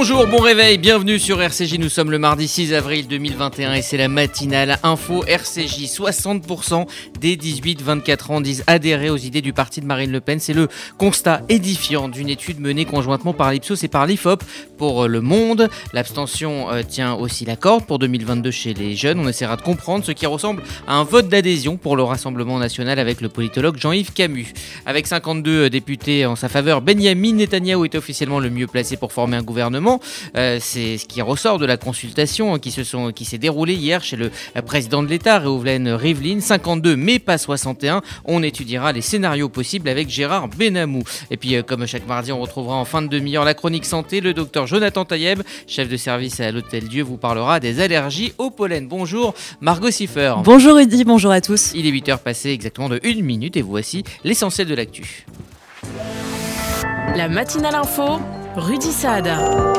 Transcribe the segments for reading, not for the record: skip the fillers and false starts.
Bonjour, bon réveil, bienvenue sur RCJ, nous sommes le mardi 6 avril 2021 et c'est la matinale info RCJ. 60% des 18-24 ans disent adhérer aux idées du parti de Marine Le Pen. C'est le constat édifiant d'une étude menée conjointement par l'Ipsos et par l'IFOP pour Le Monde. L'abstention tient aussi la corde pour 2022 chez les jeunes. On essaiera de comprendre ce qui ressemble à un vote d'adhésion pour le Rassemblement national avec le politologue Jean-Yves Camus. Avec 52 députés en sa faveur, Benyamin Netanyahou est officiellement le mieux placé pour former un gouvernement. C'est ce qui ressort de la consultation qui s'est déroulée hier chez le président de l'État, Reuven Rivlin. 52 mais pas 61. On étudiera les scénarios possibles avec Gérard Benamou. Et puis comme chaque mardi, on retrouvera en fin de demi-heure la chronique santé. Le docteur Jonathan Tayeb, chef de service à l'Hôtel Dieu, vous parlera des allergies au pollen. Bonjour Margot Siffer. Bonjour Rudy, bonjour à tous. Il est 8h passé exactement de 1 minute et voici l'essentiel de l'actu. La matinale info, Rudy Saad.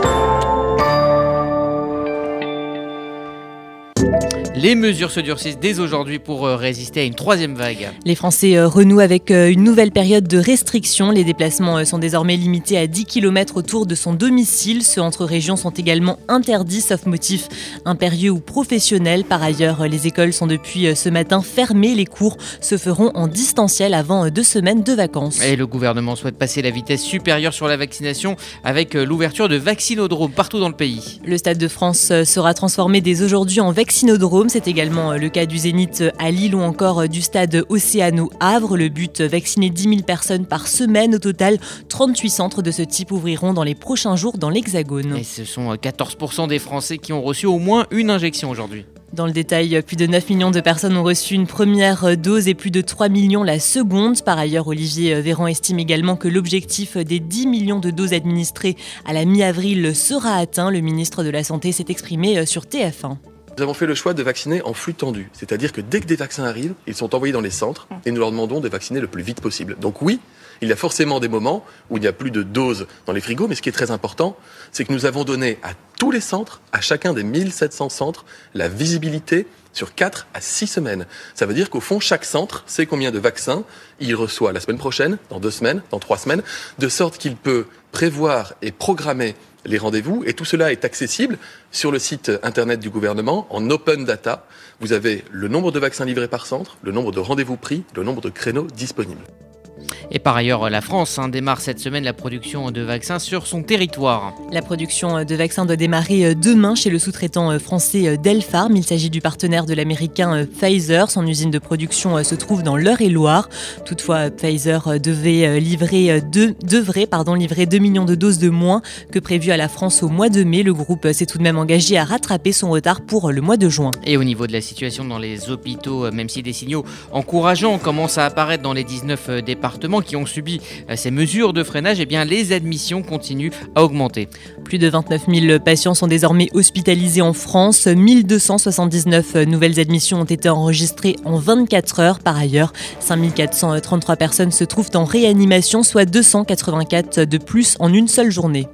Les mesures se durcissent dès aujourd'hui pour résister à une troisième vague. Les Français renouent avec une nouvelle période de restrictions. Les déplacements sont désormais limités à 10 km autour de son domicile. Ceux entre régions sont également interdits, sauf motif impérieux ou professionnel. Par ailleurs, les écoles sont depuis ce matin fermées. Les cours se feront en distanciel avant 2 semaines de vacances. Et le gouvernement souhaite passer la vitesse supérieure sur la vaccination avec l'ouverture de vaccinodromes partout dans le pays. Le Stade de France sera transformé dès aujourd'hui en vaccinodrome. C'est également le cas du Zénith à Lille ou encore du stade Océano Havre. Le but, vacciner 10 000 personnes par semaine. Au total, 38 centres de ce type ouvriront dans les prochains jours dans l'Hexagone. Et ce sont 14% des Français qui ont reçu au moins une injection aujourd'hui. Dans le détail, plus de 9 millions de personnes ont reçu une première dose et plus de 3 millions la seconde. Par ailleurs, Olivier Véran estime également que l'objectif des 10 millions de doses administrées à la mi-avril sera atteint. Le ministre de la Santé s'est exprimé sur TF1. Nous avons fait le choix de vacciner en flux tendu, c'est-à-dire que dès que des vaccins arrivent, ils sont envoyés dans les centres et nous leur demandons de vacciner le plus vite possible. Donc oui, il y a forcément des moments où il n'y a plus de doses dans les frigos, mais ce qui est très important, c'est que nous avons donné à tous les centres, à chacun des 1700 centres, la visibilité sur 4 à 6 semaines. Ça veut dire qu'au fond, chaque centre sait combien de vaccins il reçoit la semaine prochaine, dans 2 semaines, dans 3 semaines, de sorte qu'il peut prévoir et programmer les rendez-vous, et tout cela est accessible sur le site internet du gouvernement en open data. Vous avez le nombre de vaccins livrés par centre, le nombre de rendez-vous pris, le nombre de créneaux disponibles. Et par ailleurs, la France démarre cette semaine la production de vaccins sur son territoire. La production de vaccins doit démarrer demain chez le sous-traitant français Delpharm. Il s'agit du partenaire de l'américain Pfizer. Son usine de production se trouve dans l'Eure-et-Loire. Toutefois, Pfizer devrait livrer 2 millions de doses de moins que prévu à la France au mois de mai. Le groupe s'est tout de même engagé à rattraper son retard pour le mois de juin. Et au niveau de la situation dans les hôpitaux, même si des signaux encourageants commencent à apparaître dans les 19 départements qui ont subi ces mesures de freinage, eh bien les admissions continuent à augmenter. Plus de 29 000 patients sont désormais hospitalisés en France. 1279 nouvelles admissions ont été enregistrées en 24 heures. Par ailleurs, 5433 personnes se trouvent en réanimation, soit 284 de plus en une seule journée.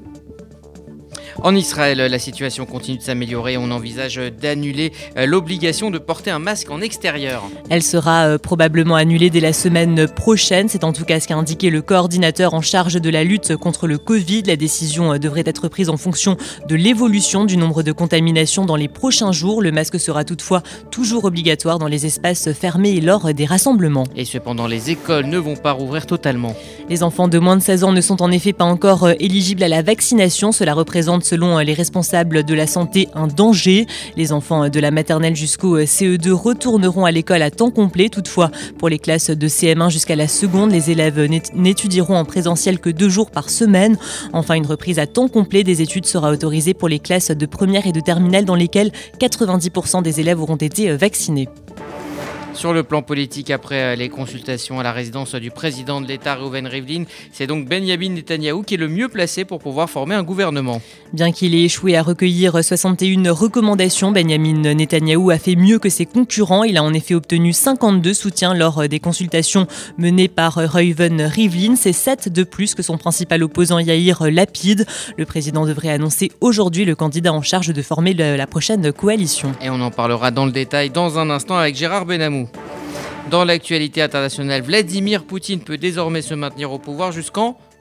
En Israël, la situation continue de s'améliorer. On envisage d'annuler l'obligation de porter un masque en extérieur. Elle sera probablement annulée dès la semaine prochaine. C'est en tout cas ce qu'a indiqué le coordinateur en charge de la lutte contre le Covid. La décision devrait être prise en fonction de l'évolution du nombre de contaminations dans les prochains jours. Le masque sera toutefois toujours obligatoire dans les espaces fermés et lors des rassemblements. Et cependant, les écoles ne vont pas rouvrir totalement. Les enfants de moins de 16 ans ne sont en effet pas encore éligibles à la vaccination. Cela représente, selon les responsables de la santé, un danger. Les enfants de la maternelle jusqu'au CE2 retourneront à l'école à temps complet. Toutefois, pour les classes de CM1 jusqu'à la seconde, les élèves n'étudieront en présentiel que 2 jours par semaine. Enfin, une reprise à temps complet des études sera autorisée pour les classes de première et de terminale dans lesquelles 90% des élèves auront été vaccinés. Sur le plan politique, après les consultations à la résidence du président de l'État, Reuven Rivlin, c'est donc Benyamin Netanyahou qui est le mieux placé pour pouvoir former un gouvernement. Bien qu'il ait échoué à recueillir 61 recommandations, Benyamin Netanyahou a fait mieux que ses concurrents. Il a en effet obtenu 52 soutiens lors des consultations menées par Reuven Rivlin. C'est 7 de plus que son principal opposant Yair Lapid. Le président devrait annoncer aujourd'hui le candidat en charge de former la prochaine coalition. Et on en parlera dans le détail dans un instant avec Gérard Benamou. Dans l'actualité internationale, Vladimir Poutine peut désormais se maintenir au pouvoir jusqu'en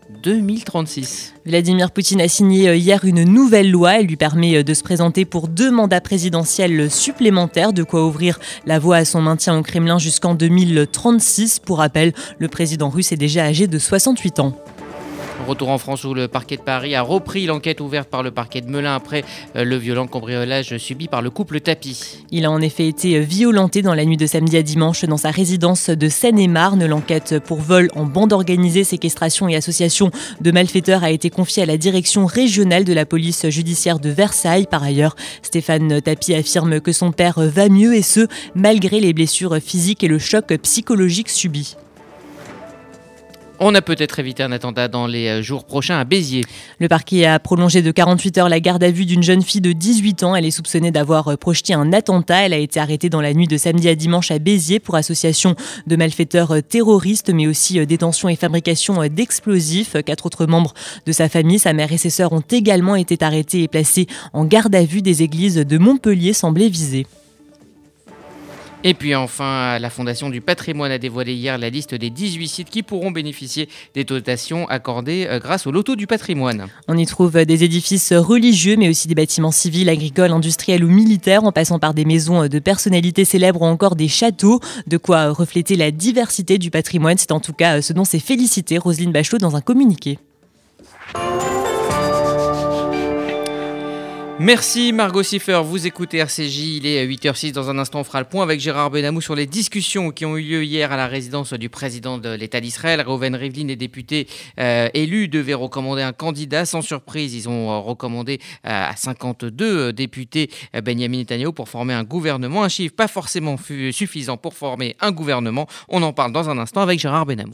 2036. Vladimir Poutine a signé hier une nouvelle loi. Elle lui permet de se présenter pour 2 mandats présidentiels supplémentaires, de quoi ouvrir la voie à son maintien au Kremlin jusqu'en 2036. Pour rappel, le président russe est déjà âgé de 68 ans. Retour en France où le parquet de Paris a repris l'enquête ouverte par le parquet de Melun après le violent cambriolage subi par le couple Tapie. Il a en effet été violenté dans la nuit de samedi à dimanche dans sa résidence de Seine-et-Marne. L'enquête pour vol en bande organisée, séquestration et association de malfaiteurs a été confiée à la direction régionale de la police judiciaire de Versailles. Par ailleurs, Stéphane Tapie affirme que son père va mieux et ce, malgré les blessures physiques et le choc psychologique subi. On a peut-être évité un attentat dans les jours prochains à Béziers. Le parquet a prolongé de 48 heures la garde à vue d'une jeune fille de 18 ans. Elle est soupçonnée d'avoir projeté un attentat. Elle a été arrêtée dans la nuit de samedi à dimanche à Béziers pour association de malfaiteurs terroristes, mais aussi détention et fabrication d'explosifs. 4 autres membres de sa famille, sa mère et ses sœurs, ont également été arrêtés et placés en garde à vue. Des églises de Montpellier semblaient visées. Et puis enfin, la Fondation du patrimoine a dévoilé hier la liste des 18 sites qui pourront bénéficier des dotations accordées grâce au loto du patrimoine. On y trouve des édifices religieux, mais aussi des bâtiments civils, agricoles, industriels ou militaires, en passant par des maisons de personnalités célèbres ou encore des châteaux. De quoi refléter la diversité du patrimoine. C'est en tout cas ce dont s'est félicitée Roselyne Bachelot dans un communiqué. Merci Margot Siffer, vous écoutez RCJ, il est 8h06, dans un instant on fera le point avec Gérard Benamou sur les discussions qui ont eu lieu hier à la résidence du président de l'État d'Israël. Reuven Rivlin, les députés élus devaient recommander un candidat. Sans surprise, ils ont recommandé à 52 députés Benyamin Netanyahou pour former un gouvernement, un chiffre pas forcément suffisant pour former un gouvernement. On en parle dans un instant avec Gérard Benamou.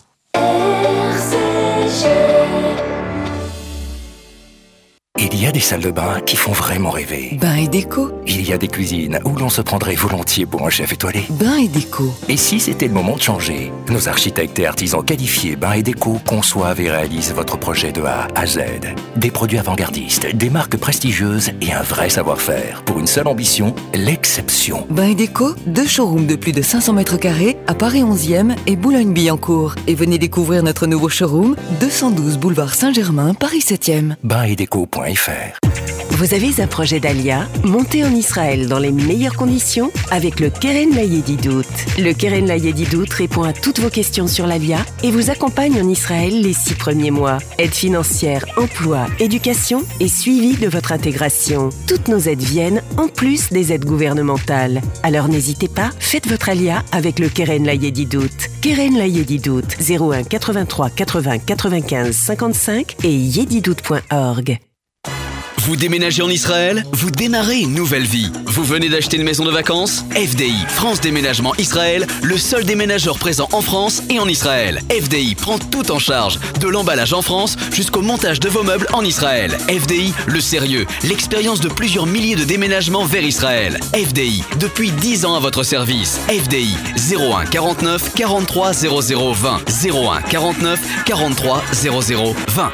Il y a des salles de bain qui font vraiment rêver. Bain et déco. Il y a des cuisines où l'on se prendrait volontiers pour un chef étoilé. Bain et déco. Et si c'était le moment de changer? Nos architectes et artisans qualifiés Bain et Déco conçoivent et réalisent votre projet de A à Z. Des produits avant-gardistes, des marques prestigieuses et un vrai savoir-faire. Pour une seule ambition, l'exception. Bain et déco, 2 showrooms de plus de 500 mètres carrés à Paris 11e et Boulogne-Billancourt. Et venez découvrir notre nouveau showroom, 212 boulevard Saint-Germain, Paris 7e. Bainetdeco.fr. Vous avez un projet d'Alia? Montez en Israël dans les meilleures conditions avec le Keren Layedidout. Le Keren Layedidout répond à toutes vos questions sur l'Alia et vous accompagne en Israël les 6 premiers mois. Aide financière, emploi, éducation et suivi de votre intégration. Toutes nos aides viennent en plus des aides gouvernementales. Alors n'hésitez pas, faites votre Alia avec le Keren Layedidout. Keren Layedidout, 01 83 80 95 55 et yedidout.org. Vous déménagez en Israël? Vous démarrez une nouvelle vie. Vous venez d'acheter une maison de vacances? FDI, France Déménagement Israël, le seul déménageur présent en France et en Israël. FDI prend tout en charge, de l'emballage en France jusqu'au montage de vos meubles en Israël. FDI, le sérieux, l'expérience de plusieurs milliers de déménagements vers Israël. FDI, depuis 10 ans à votre service. FDI, 01 49 43 00 20. 01 49 43 00 20.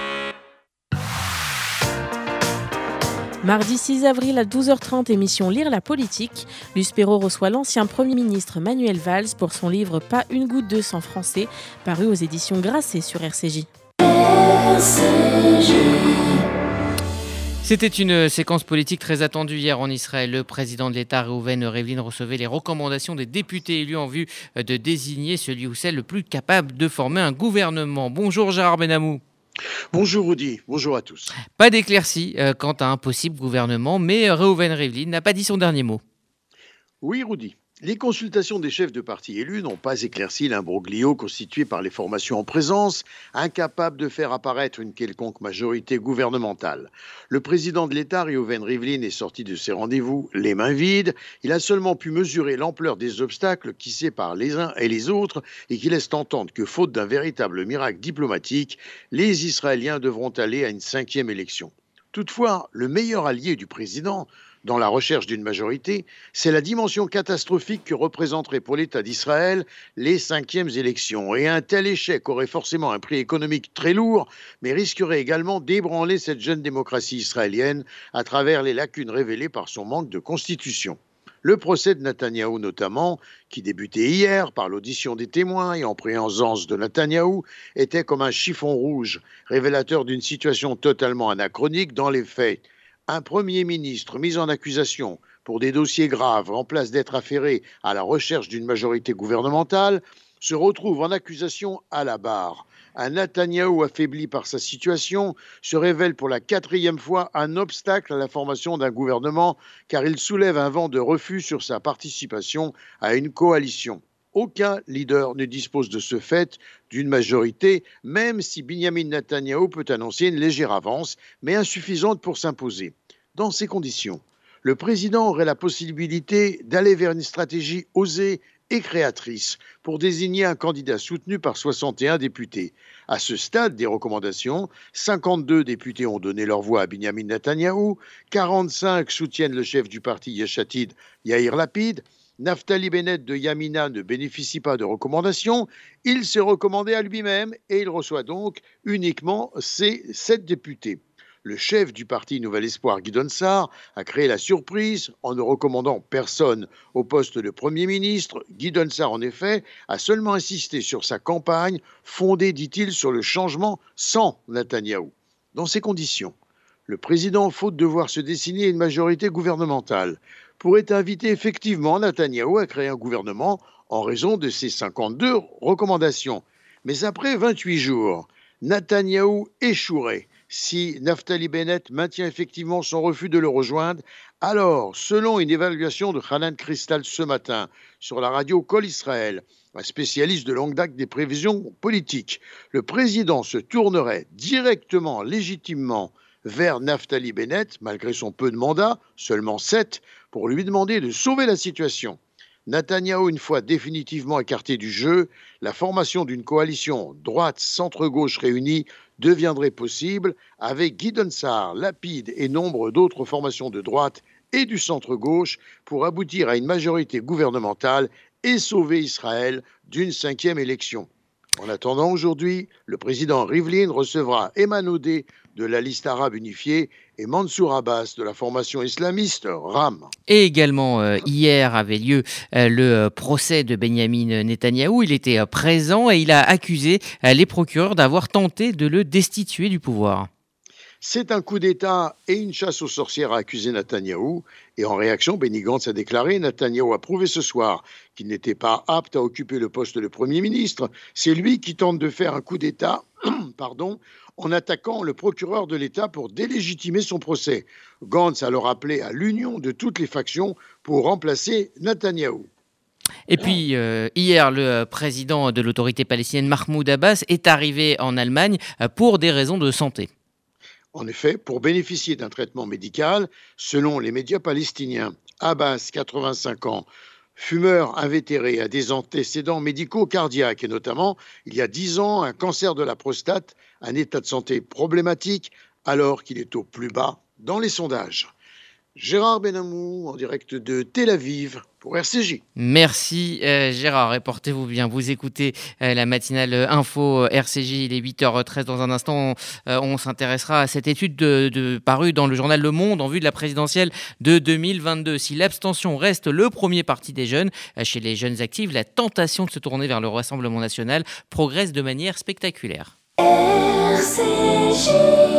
Mardi 6 avril à 12h30, émission Lire la politique. Luce Perrault reçoit l'ancien Premier ministre Manuel Valls pour son livre Pas une goutte de sang français, paru aux éditions Grasset sur RCJ. C'était une séquence politique très attendue hier en Israël. Le président de l'État, Reuven Rivlin, recevait les recommandations des députés élus en vue de désigner celui ou celle le plus capable de former un gouvernement. Bonjour Gérard Benamou. Bonjour Rudy, bonjour à tous. Pas d'éclaircie quant à un possible gouvernement, mais Reuven Rivlin n'a pas dit son dernier mot. Oui Rudy, les consultations des chefs de partis élus n'ont pas éclairci l'imbroglio constitué par les formations en présence, incapables de faire apparaître une quelconque majorité gouvernementale. Le président de l'État, Reuven Rivlin, est sorti de ses rendez-vous les mains vides. Il a seulement pu mesurer l'ampleur des obstacles qui séparent les uns et les autres et qui laissent entendre que, faute d'un véritable miracle diplomatique, les Israéliens devront aller à une 5e élection. Toutefois, le meilleur allié du président dans la recherche d'une majorité, c'est la dimension catastrophique que représenteraient pour l'État d'Israël les 5e élections. Et un tel échec aurait forcément un prix économique très lourd, mais risquerait également d'ébranler cette jeune démocratie israélienne à travers les lacunes révélées par son manque de constitution. Le procès de Netanyahou notamment, qui débutait hier par l'audition des témoins et en présence de Netanyahou, était comme un chiffon rouge, révélateur d'une situation totalement anachronique dans les faits. Un Premier ministre mis en accusation pour des dossiers graves en place d'être affairé à la recherche d'une majorité gouvernementale se retrouve en accusation à la barre. Un Netanyahou affaibli par sa situation se révèle pour la 4e fois un obstacle à la formation d'un gouvernement car il soulève un vent de refus sur sa participation à une coalition. Aucun leader ne dispose de ce fait d'une majorité, même si Binyamin Netanyahou peut annoncer une légère avance, mais insuffisante pour s'imposer. Dans ces conditions, le président aurait la possibilité d'aller vers une stratégie osée et créatrice pour désigner un candidat soutenu par 61 députés. À ce stade des recommandations, 52 députés ont donné leur voix à Binyamin Netanyahou, 45 soutiennent le chef du parti Yesh Atid, Yair Lapid. Naftali Bennett de Yamina ne bénéficie pas de recommandations. Il s'est recommandé à lui-même et il reçoit donc uniquement ses 7 députés. Le chef du parti Nouvel Espoir, Gideon Sa'ar, a créé la surprise en ne recommandant personne au poste de Premier ministre. Gideon Sa'ar, en effet, a seulement insisté sur sa campagne, fondée, dit-il, sur le changement sans Netanyahou. Dans ces conditions, le président, faute de voir se dessiner une majorité gouvernementale, pourrait inviter effectivement Netanyahou à créer un gouvernement en raison de ses 52 recommandations. Mais après 28 jours, Netanyahou échouerait si Naftali Bennett maintient effectivement son refus de le rejoindre. Alors, selon une évaluation de Hanan Kristal ce matin sur la radio Kol Israël, un spécialiste de longue date des prévisions politiques, le président se tournerait directement, légitimement, vers Naftali Bennett, malgré son peu de mandats, seulement 7, pour lui demander de sauver la situation. Netanyahou, une fois définitivement écarté du jeu, la formation d'une coalition droite-centre-gauche réunie deviendrait possible avec Gideon Sa'ar, Lapid et nombre d'autres formations de droite et du centre-gauche pour aboutir à une majorité gouvernementale et sauver Israël d'une 5e élection. En attendant, aujourd'hui, le président Rivlin recevra Ayman Odeh de la liste arabe unifiée et Mansour Abbas de la formation islamiste RAM. Et également, hier avait lieu le procès de Benyamin Netanyahou. Il était présent et il a accusé les procureurs d'avoir tenté de le destituer du pouvoir. C'est un coup d'État et une chasse aux sorcières, a accusé Netanyahou. Et en réaction, Benny Gantz a déclaré: Netanyahou a prouvé ce soir qu'il n'était pas apte à occuper le poste de Premier ministre. C'est lui qui tente de faire un coup d'État en attaquant le procureur de l'État pour délégitimer son procès. Gantz a alors appelé à l'union de toutes les factions pour remplacer Netanyahou. Et puis, hier, le président de l'autorité palestinienne, Mahmoud Abbas, est arrivé en Allemagne pour des raisons de santé. En effet, pour bénéficier d'un traitement médical, selon les médias palestiniens, Abbas, 85 ans, fumeur invétéré, a des antécédents médicaux cardiaques et notamment, il y a 10 ans, un cancer de la prostate, un état de santé problématique alors qu'il est au plus bas dans les sondages. Gérard Benamou en direct de Tel Aviv pour RCJ. Merci Gérard, et portez-vous bien. Vous écoutez la matinale info RCJ, il est 8h13. Dans un instant, on s'intéressera à cette étude parue dans le journal Le Monde en vue de la présidentielle de 2022. Si l'abstention reste le premier parti des jeunes, chez les jeunes actifs, la tentation de se tourner vers le Rassemblement national progresse de manière spectaculaire. RCJ.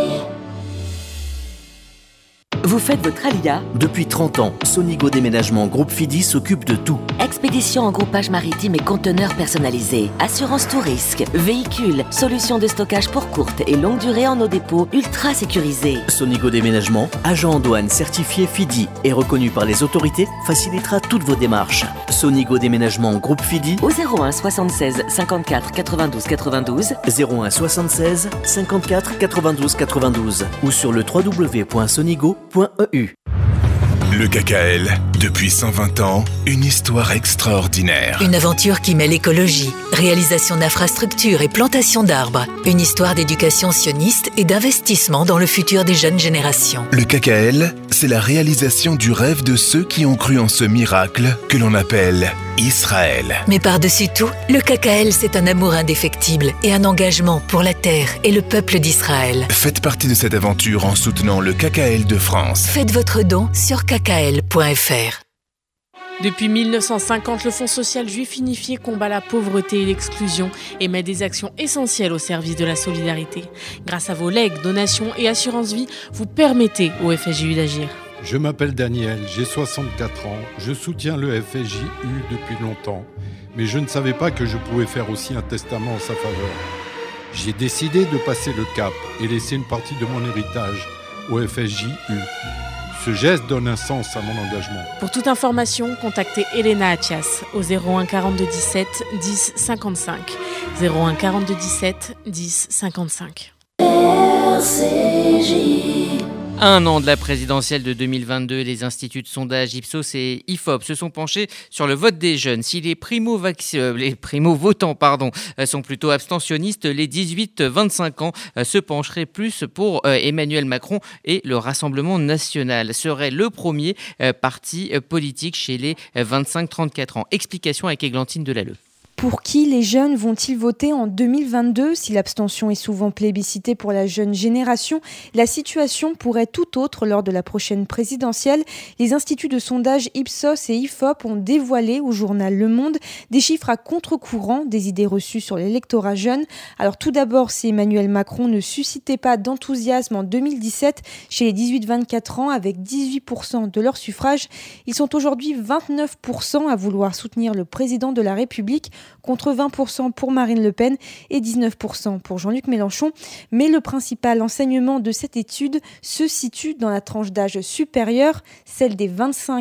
Vous faites votre alia? Depuis 30 ans, Sonigo Déménagement Groupe Fidi s'occupe de tout. Expédition en groupage maritime et conteneurs personnalisés, assurance tout risque, véhicules, solutions de stockage pour courte et longue durée en nos dépôts ultra sécurisés. Sonigo Déménagement, agent en douane certifié Fidi et reconnu par les autorités, facilitera toutes vos démarches. Sonigo Déménagement Groupe Fidi au 01 76 54 92 92, 01 76 54 92 92 ou sur le www.sonigo.eu. Le KKL, depuis 120 ans, une histoire extraordinaire. Une aventure qui mêle écologie, réalisation d'infrastructures et plantation d'arbres. Une histoire d'éducation sioniste et d'investissement dans le futur des jeunes générations. Le KKL, c'est la réalisation du rêve de ceux qui ont cru en ce miracle que l'on appelle Israël. Mais par-dessus tout, le KKL, c'est un amour indéfectible et un engagement pour la terre et le peuple d'Israël. Faites partie de cette aventure en soutenant le KKL de France. Faites votre don sur kkl.fr. Depuis 1950, le Fonds social juif unifié combat la pauvreté et l'exclusion et met des actions essentielles au service de la solidarité. Grâce à vos legs, donations et assurances vie, vous permettez au FSJU d'agir. Je m'appelle Daniel, j'ai 64 ans, je soutiens le FSJU depuis longtemps, mais je ne savais pas que je pouvais faire aussi un testament en sa faveur. J'ai décidé de passer le cap et laisser une partie de mon héritage au FSJU. Ce geste donne un sens à mon engagement. Pour toute information, contactez Elena Atias au 01 42 17 10 55. 01 42 17 10 55. Un an de la présidentielle de 2022, les instituts de sondage Ipsos et IFOP se sont penchés sur le vote des jeunes. Si les primo-votants sont plutôt abstentionnistes, les 18-25 ans se pencheraient plus pour Emmanuel Macron et le Rassemblement national. Serait le premier parti politique chez les 25-34 ans. Explication avec Églantine Delalleux. Pour qui les jeunes vont-ils voter en 2022 ? Si l'abstention est souvent plébiscitée pour la jeune génération, la situation pourrait être tout autre lors de la prochaine présidentielle. Les instituts de sondage Ipsos et IFOP ont dévoilé au journal Le Monde des chiffres à contre-courant des idées reçues sur l'électorat jeune. Alors tout d'abord, si Emmanuel Macron ne suscitait pas d'enthousiasme en 2017 chez les 18-24 ans avec 18% de leur suffrage, ils sont aujourd'hui 29% à vouloir soutenir le président de la République, contre 20% pour Marine Le Pen et 19% pour Jean-Luc Mélenchon. Mais le principal enseignement de cette étude se situe dans la tranche d'âge supérieure, celle des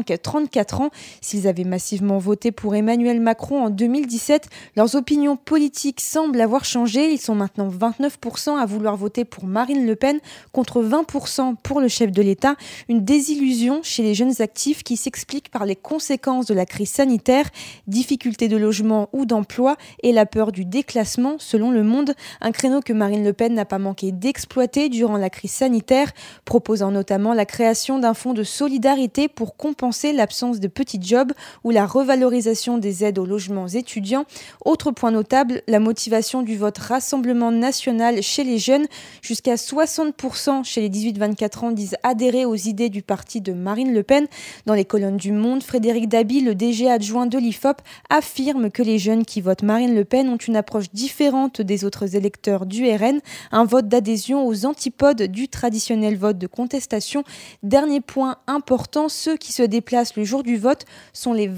25-34 ans. S'ils avaient massivement voté pour Emmanuel Macron en 2017, leurs opinions politiques semblent avoir changé. Ils sont maintenant 29% à vouloir voter pour Marine Le Pen, contre 20% pour le chef de l'État. Une désillusion chez les jeunes actifs qui s'explique par les conséquences de la crise sanitaire, difficultés de logement ou d'emploi et la peur du déclassement, selon Le Monde, un créneau que Marine Le Pen n'a pas manqué d'exploiter durant la crise sanitaire, proposant notamment la création d'un fonds de solidarité pour compenser l'absence de petits jobs ou la revalorisation des aides aux logements étudiants. Autre point notable, la motivation du vote Rassemblement national chez les jeunes. Jusqu'à 60% chez les 18-24 ans disent adhérer aux idées du parti de Marine Le Pen. Dans les colonnes du Monde, Frédéric Dabi, le DG adjoint de l'IFOP, affirme que les jeunes qui votent Marine Le Pen ont une approche différente des autres électeurs du RN, un vote d'adhésion aux antipodes du traditionnel vote de contestation. Dernier point important, ceux qui se déplacent le jour du vote sont les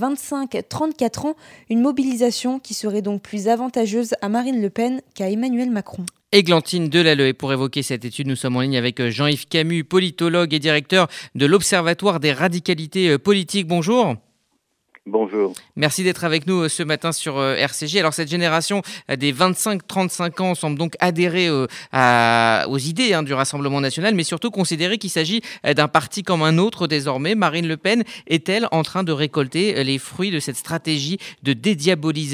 25-34 ans, une mobilisation qui serait donc plus avantageuse à Marine Le Pen qu'à Emmanuel Macron. Églantine Delalleux. Et pour évoquer cette étude, nous sommes en ligne avec Jean-Yves Camus, politologue et directeur de l'Observatoire des radicalités politiques. Bonjour. Bonjour. Merci d'être avec nous ce matin sur RCJ. Alors cette génération des 25-35 ans semble donc adhérer aux idées du Rassemblement national, mais surtout considérer qu'il s'agit d'un parti comme un autre désormais. Marine Le Pen est-elle en train de récolter les fruits de cette stratégie de dédiabolisation ?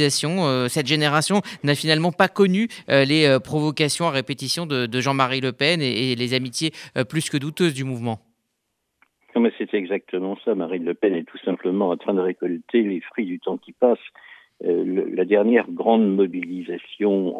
Cette génération n'a finalement pas connu les provocations à répétition de Jean-Marie Le Pen et les amitiés plus que douteuses du mouvement. Non, mais c'est exactement ça. Marine Le Pen est tout simplement en train de récolter les fruits du temps qui passe. La dernière grande mobilisation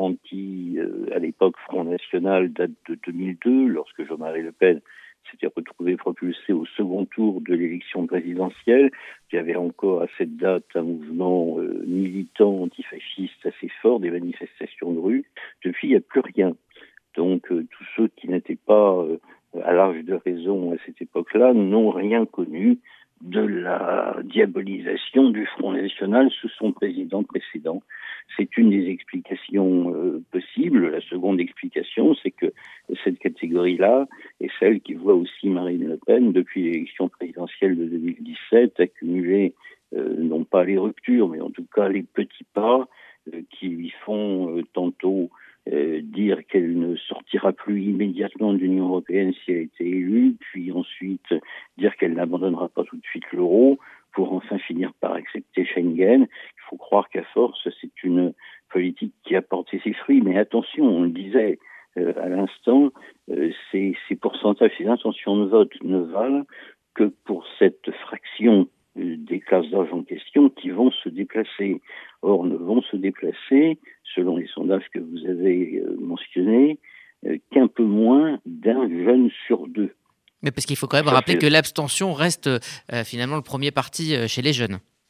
à l'époque Front National date de 2002, lorsque Jean-Marie Le Pen s'était retrouvé propulsé au second tour de l'élection présidentielle. Il y avait encore à cette date un mouvement militant antifasciste assez fort, des manifestations de rue. Depuis, il n'y a plus rien. Donc, tous ceux qui n'étaient pas à l'âge de raison à cette époque-là, n'ont rien connu de la diabolisation du Front National sous son président précédent. C'est une des explications possibles. La seconde explication, c'est que cette catégorie-là est celle qui voit aussi Marine Le Pen, depuis l'élection présidentielle de 2017, accumuler non pas les ruptures, mais en tout cas les petits pas qui lui font tantôt dire qu'elle ne sortira plus immédiatement de l'Union européenne si elle était élue, puis ensuite dire qu'elle n'abandonnera pas tout de suite l'euro, pour enfin finir par accepter Schengen. Il faut croire qu'à force, c'est une politique qui a porté ses fruits, mais attention, on le disait à l'instant, ces pourcentages, ces intentions de vote ne valent que pour cette fraction des classes d'âge en question qui vont se déplacer. Or, ne vont se déplacer, selon les sondages que vous avez mentionnés, qu'un peu moins d'un jeune sur deux. Mais parce qu'il faut quand même rappeler que l'abstention reste finalement le premier parti chez les jeunes.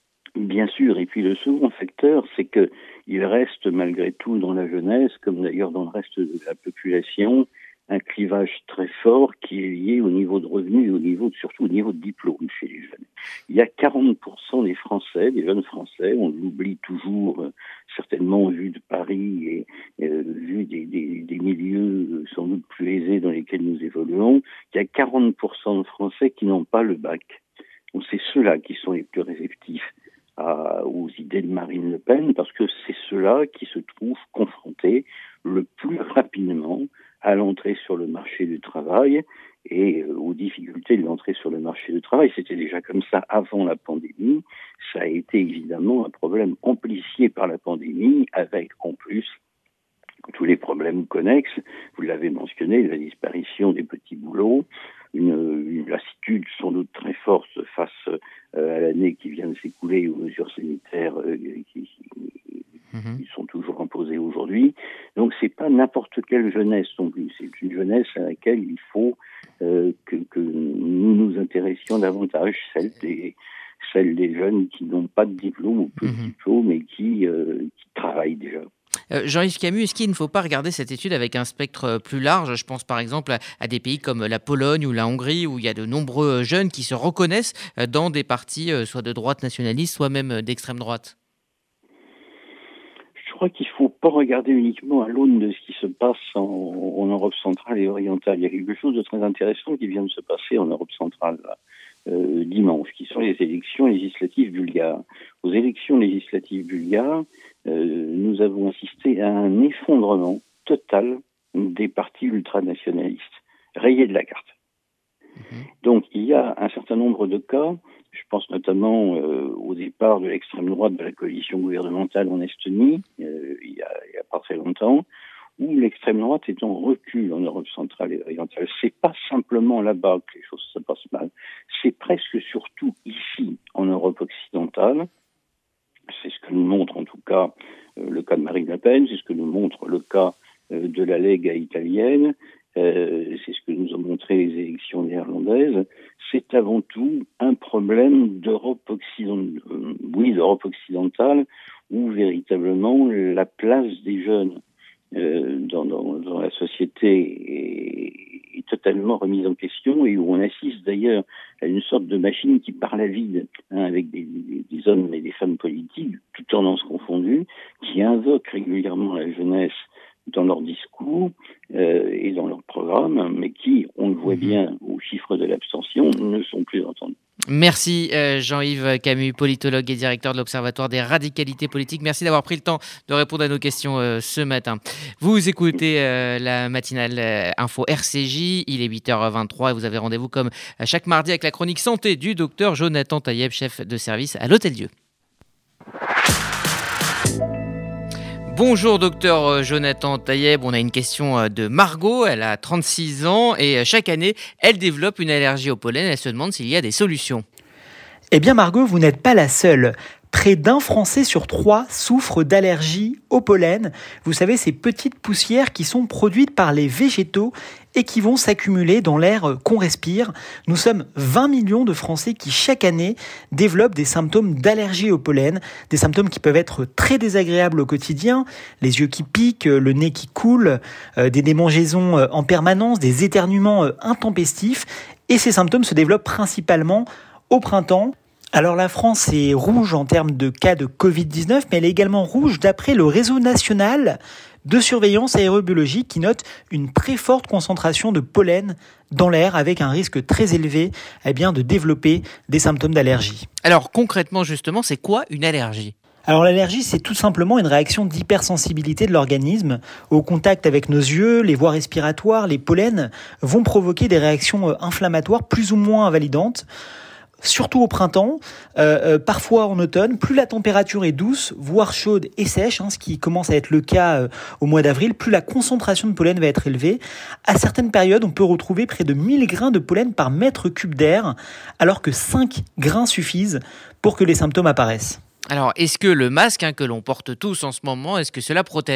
Bien sûr, et puis le second facteur, c'est que il reste malgré tout dans la jeunesse, comme d'ailleurs dans le reste de la population, un clivage très fort qui est lié au niveau de revenus et surtout au niveau de diplôme chez les jeunes. Il y a 40% des Français, des jeunes Français, on l'oublie toujours, certainement vu de Paris et vu des milieux sans doute plus aisés dans lesquels nous évoluons, il y a 40% de Français qui n'ont pas le bac. Donc c'est ceux-là qui sont les plus réceptifs aux idées de Marine Le Pen, parce que c'est ceux-là qui se trouvent confrontés le plus rapidement à l'entrée sur le marché du travail et aux difficultés de l'entrée sur le marché du travail. C'était déjà comme ça avant la pandémie. Ça a été évidemment un problème amplifié par la pandémie, avec en plus tous les problèmes connexes. Vous l'avez mentionné, la disparition des petits boulots, une lassitude sans doute très forte face à l'année qui vient de s'écouler, aux mesures sanitaires qui sont toujours imposées aujourd'hui. Donc c'est pas n'importe quelle jeunesse non plus, c'est une jeunesse à laquelle il faut que nous nous intéressions davantage, celle des jeunes qui n'ont pas de diplôme ou peu de diplôme et qui travaillent déjà. Jean-Yves Camus, est-ce qu'il ne faut pas regarder cette étude avec un spectre plus large ? Je pense par exemple à des pays comme la Pologne ou la Hongrie, où il y a de nombreux jeunes qui se reconnaissent dans des partis soit de droite nationaliste, soit même d'extrême droite. Je crois qu'il ne faut pas regarder uniquement à l'aune de ce qui se passe en Europe centrale et orientale. Il y a quelque chose de très intéressant qui vient de se passer en Europe centrale dimanche, qui sont les élections législatives bulgares. Aux élections législatives bulgares, nous avons assisté à un effondrement total des partis ultranationalistes, rayés de la carte. Donc il y a un certain nombre de cas, je pense notamment au départ de l'extrême droite de la coalition gouvernementale en Estonie, il y a pas très longtemps, où l'extrême droite est en recul en Europe centrale et orientale. C'est pas simplement là-bas que les choses se passent mal, c'est presque surtout ici, en Europe occidentale. C'est ce que nous montre en tout cas le cas de Marine Le Pen, c'est ce que nous montre le cas de la Lega italienne, c'est ce que nous ont montré les élections néerlandaises. C'est avant tout un problème d'Europe occidentale, où véritablement la place des jeunes dans la société est totalement remise en question, et où on assiste d'ailleurs à une sorte de machine qui parle à vide, avec des hommes et des femmes politiques, toutes tendances confondues, qui invoquent régulièrement la jeunesse dans leurs discours et dans leurs programmes, mais qui, on le voit bien aux chiffres de l'abstention, ne sont plus entendus. Merci Jean-Yves Camus, politologue et directeur de l'Observatoire des radicalités politiques. Merci d'avoir pris le temps de répondre à nos questions ce matin. Vous écoutez la matinale Info RCJ, il est 8h23 et vous avez rendez-vous comme chaque mardi avec la chronique santé du docteur Jonathan Taïeb, chef de service à l'Hôtel-Dieu. Bonjour docteur Jonathan Taïeb, on a une question de Margot, elle a 36 ans et chaque année elle développe une allergie au pollen, elle se demande s'il y a des solutions. Eh bien Margot, vous n'êtes pas la seule. Près d'1 Français sur 3 souffre d'allergie au pollen. Vous savez, ces petites poussières qui sont produites par les végétaux et qui vont s'accumuler dans l'air qu'on respire. Nous sommes 20 millions de Français qui, chaque année, développent des symptômes d'allergie au pollen, des symptômes qui peuvent être très désagréables au quotidien, les yeux qui piquent, le nez qui coule, des démangeaisons en permanence, des éternuements intempestifs, et ces symptômes se développent principalement au printemps. Alors la France est rouge en termes de cas de Covid-19, mais elle est également rouge d'après le réseau national de surveillance aérobiologique qui note une très forte concentration de pollen dans l'air avec un risque très élevé de développer des symptômes d'allergie. Alors concrètement justement, c'est quoi une allergie ? Alors l'allergie, c'est tout simplement une réaction d'hypersensibilité de l'organisme. Au contact avec nos yeux, les voies respiratoires, les pollens vont provoquer des réactions inflammatoires plus ou moins invalidantes. Surtout au printemps, parfois en automne, plus la température est douce, voire chaude et sèche, ce qui commence à être le cas au mois d'avril, plus la concentration de pollen va être élevée. À certaines périodes, on peut retrouver près de 1000 grains de pollen par mètre cube d'air, alors que 5 grains suffisent pour que les symptômes apparaissent. Alors, est-ce que le masque que l'on porte tous en ce moment, est-ce que cela protège ?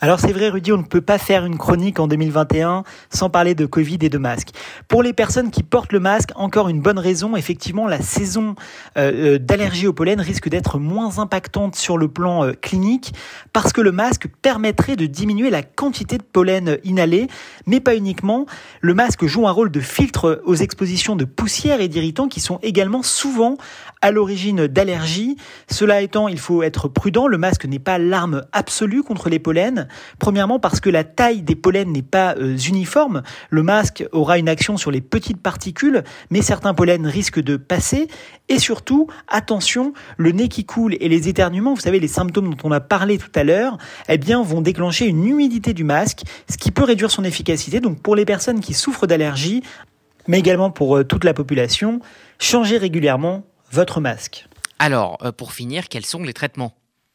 Alors c'est vrai Rudy, on ne peut pas faire une chronique en 2021 sans parler de Covid et de masques. Pour les personnes qui portent le masque, encore une bonne raison, effectivement la saison d'allergie au pollen risque d'être moins impactante sur le plan clinique parce que le masque permettrait de diminuer la quantité de pollen inhalé, mais pas uniquement. Le masque joue un rôle de filtre aux expositions de poussière et d'irritants qui sont également souvent à l'origine d'allergies. Cela étant, il faut être prudent, le masque n'est pas l'arme absolue contre les pollens. Premièrement parce que la taille des pollens n'est pas uniforme. Le masque aura une action sur les petites particules, mais certains pollens risquent de passer. Et surtout, attention, le nez qui coule et les éternuements, vous savez, les symptômes dont on a parlé tout à l'heure, vont déclencher une humidité du masque, ce qui peut réduire son efficacité. Donc pour les personnes qui souffrent d'allergies, mais également pour toute la population, changez régulièrement votre masque. Alors, pour finir, quels sont les traitements ?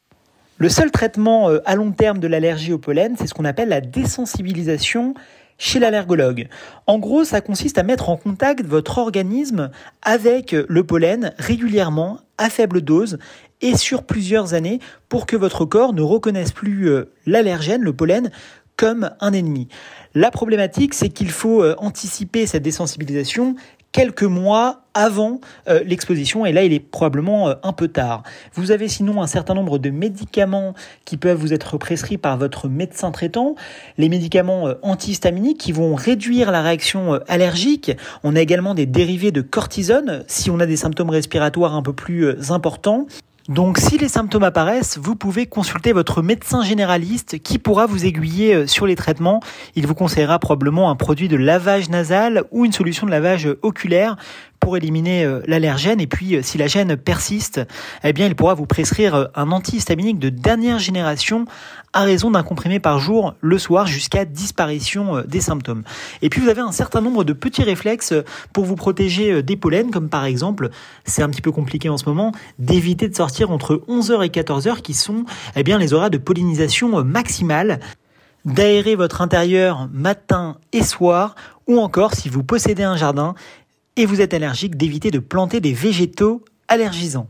Le seul traitement à long terme de l'allergie au pollen, c'est ce qu'on appelle la désensibilisation chez l'allergologue. En gros, ça consiste à mettre en contact votre organisme avec le pollen régulièrement, à faible dose, et sur plusieurs années, pour que votre corps ne reconnaisse plus l'allergène, le pollen, comme un ennemi. La problématique, c'est qu'il faut anticiper cette désensibilisation quelques mois avant l'exposition, et là il est probablement un peu tard. Vous avez sinon un certain nombre de médicaments qui peuvent vous être prescrits par votre médecin traitant, les médicaments antihistaminiques qui vont réduire la réaction allergique. On a également des dérivés de cortisone si on a des symptômes respiratoires un peu plus importants. Donc si les symptômes apparaissent, vous pouvez consulter votre médecin généraliste qui pourra vous aiguiller sur les traitements. Il vous conseillera probablement un produit de lavage nasal ou une solution de lavage oculaire pour éliminer l'allergène. Et puis si la gêne persiste, il pourra vous prescrire un antihistaminique de dernière génération à raison d'un comprimé par jour le soir jusqu'à disparition des symptômes. Et puis vous avez un certain nombre de petits réflexes pour vous protéger des pollens, comme par exemple, c'est un petit peu compliqué en ce moment, d'éviter de sortir entre 11h et 14h qui sont les horaires de pollinisation maximale, d'aérer votre intérieur matin et soir, ou encore si vous possédez un jardin et vous êtes allergique, d'éviter de planter des végétaux allergisants.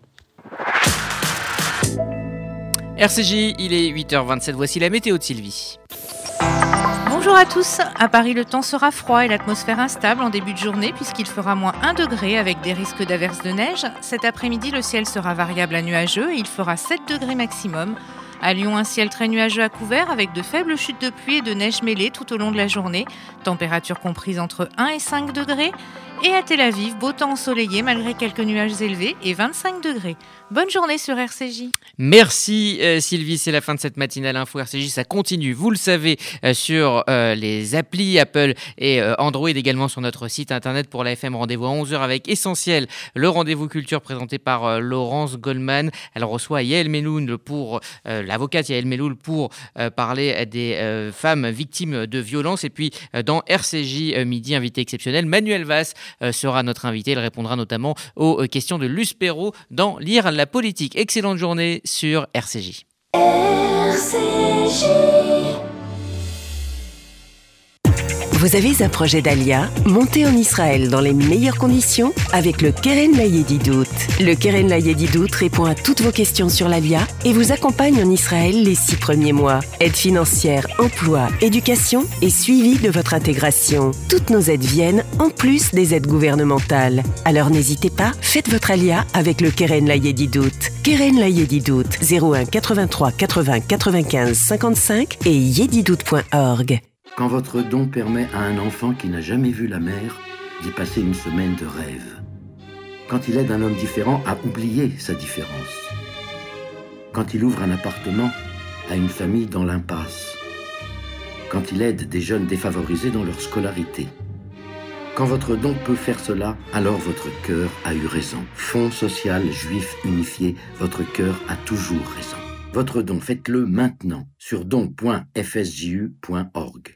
RCJ, il est 8h27, voici la météo de Sylvie. Bonjour à tous. À Paris, le temps sera froid et l'atmosphère instable en début de journée puisqu'il fera moins 1 degré avec des risques d'averses de neige. Cet après-midi, le ciel sera variable à nuageux et il fera 7 degrés maximum. À Lyon, un ciel très nuageux à couvert avec de faibles chutes de pluie et de neige mêlée tout au long de la journée. Température comprise entre 1 et 5 degrés. Et à Tel Aviv, beau temps ensoleillé malgré quelques nuages élevés et 25 degrés. Bonne journée sur RCJ. Merci Sylvie, c'est la fin de cette matinale Info RCJ. Ça continue, vous le savez, sur les applis Apple et Android, également sur notre site internet pour la FM. Rendez-vous à 11h avec Essentiel, le rendez-vous culture présenté par Laurence Goldman. Elle reçoit Yael Meloul l'avocate Yael Meloul pour parler des femmes victimes de violences. Et puis dans RCJ Midi, invité exceptionnel, Manuel Valls sera notre invité. Il répondra notamment aux questions de Luce Perrault dans Lire la politique. Excellente journée sur RCJ. RCJ. Vous avez un projet d'Alia? Montez en Israël dans les meilleures conditions avec le Keren Layedidout. Le Keren Layedidout répond à toutes vos questions sur l'Alia et vous accompagne en Israël les 6 premiers mois. Aide financière, emploi, éducation et suivi de votre intégration. Toutes nos aides viennent en plus des aides gouvernementales. Alors n'hésitez pas, faites votre Alia avec le Keren Layedidout. Keren Layedidout, 01 83 80 95 55 et yedidout.org. Quand votre don permet à un enfant qui n'a jamais vu la mer d'y passer une semaine de rêve. Quand il aide un homme différent à oublier sa différence. Quand il ouvre un appartement à une famille dans l'impasse. Quand il aide des jeunes défavorisés dans leur scolarité. Quand votre don peut faire cela, alors votre cœur a eu raison. Fonds social juif unifié, votre cœur a toujours raison. Votre don, faites-le maintenant sur don.fsju.org.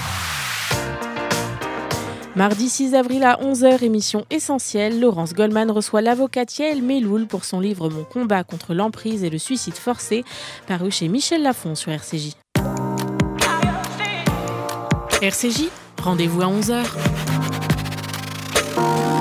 Mardi 6 avril à 11h, émission essentielle, Laurence Goldman reçoit l'avocate Yael Meloul pour son livre Mon combat contre l'emprise et le suicide forcé, paru chez Michel Lafon sur RCJ. RCJ, rendez-vous à 11h.